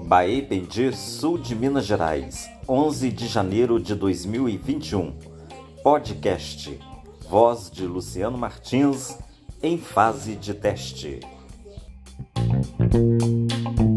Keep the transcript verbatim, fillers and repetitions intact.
Baependi, sul de Minas Gerais, onze de janeiro de dois mil e vinte e um. Podcast. Voz de Luciano Martins, em fase de teste.